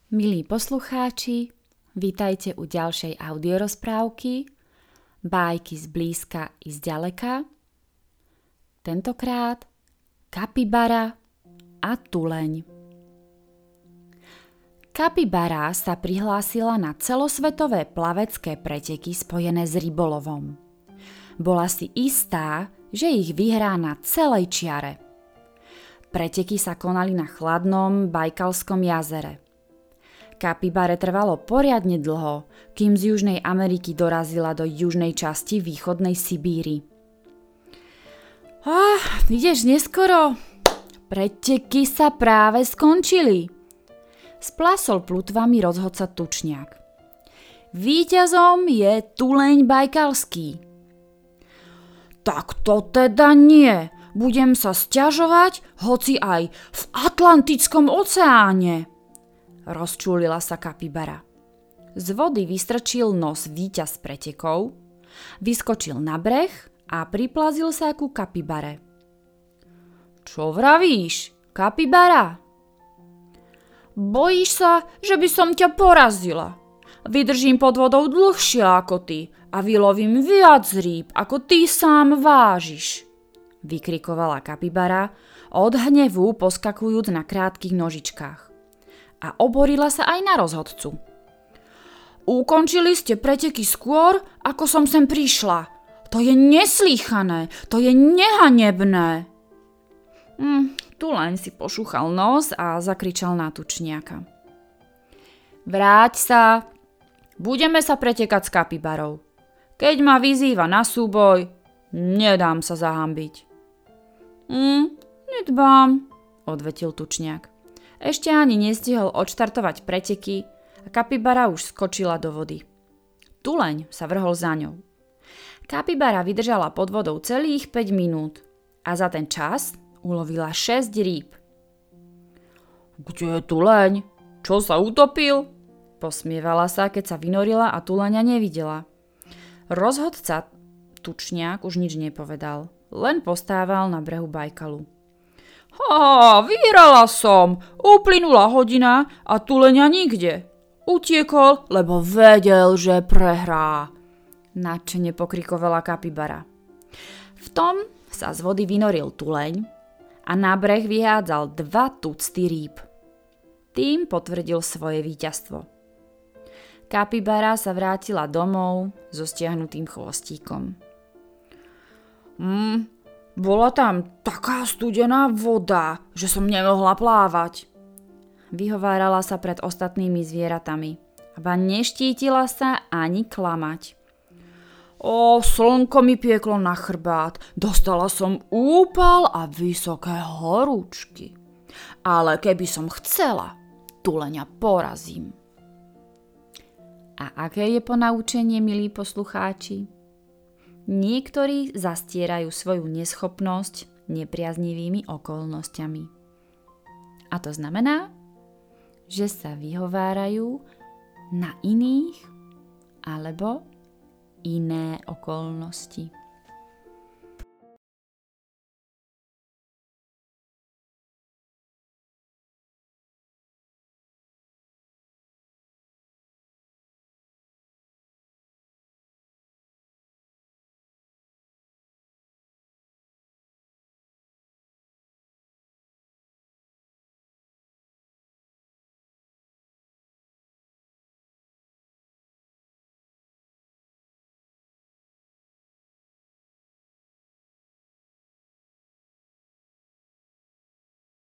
Milí poslucháči, vítajte u ďalšej audiorozprávky Bájky z blízka i z ďaleka. Tentokrát Kapibara a tuleň. Kapibara sa prihlásila na celosvetové plavecké preteky spojené s rybolovom. Bola si istá, že ich vyhrá na celej čiare. Preteky sa konali na chladnom Bajkalskom jazere. Kapibare trvalo poriadne dlho, kým z Južnej Ameriky dorazila do južnej časti východnej Sibíry. Ideš neskoro? Preteky sa práve skončili. Splásol plutvami rozhodca Tučniak. Víťazom je tuleň bajkalský. Tak to teda nie. Budem sa sťažovať, hoci aj v Atlantickom oceáne. Rozčúlila sa Kapibara. Z vody vystrčil nos víťaz pretekov, vyskočil na breh a priplazil sa ku Kapibare. Čo vravíš, Kapibara? Bojíš sa, že by som ťa porazila? Vydržím pod vodou dlhšie ako ty a vylovím viac rýb, ako ty sám vážiš, vykrikovala Kapibara, od hnevu poskakujúc na krátkych nožičkách. A oborila sa aj na rozhodcu. Ukončili ste preteky skôr, ako som sem prišla. To je neslýchané, to je nehanebné. Tuleň si pošúchal nos a zakričal na Tučniaka. Vráť sa, budeme sa pretekať s Kapibarou. Keď ma vyzýva na súboj, nedám sa zahambiť. Nedbám, odvetil Tučniak. Ešte ani nestihol odštartovať preteky a Kapibara už skočila do vody. Tuleň sa vrhol za ňou. Kapibara vydržala pod vodou celých 5 minút a za ten čas ulovila 6 rýb. Kde je tuleň? Čo sa utopil? Posmievala sa, keď sa vynorila a tuleňa nevidela. Rozhodca Tučniak už nič nepovedal, len postával na brehu Bajkalu. Vyhrala som, uplynula hodina a tuleňa nikde. Utiekol, lebo vedel, že prehrá. Nadšene pokrikovala Kapibara. V tom sa z vody vynoril tuleň a na breh vyhádzal 2 tucty rýb. Tým potvrdil svoje víťazstvo. Kapibara sa vrátila domov so stiahnutým chvostíkom. Bola tam taká studená voda, že som nemohla plávať. Vyhovárala sa pred ostatnými zvieratami, aba neštítila sa ani klamať. Slnko mi pieklo na chrbát, dostala som úpal a vysoké horúčky. Ale keby som chcela, tuleňa porazím. A aké je ponaučenie, milí poslucháči? Niektorí zastierajú svoju neschopnosť nepriaznivými okolnostiami. A to znamená, že sa vyhovárajú na iných alebo iné okolnosti.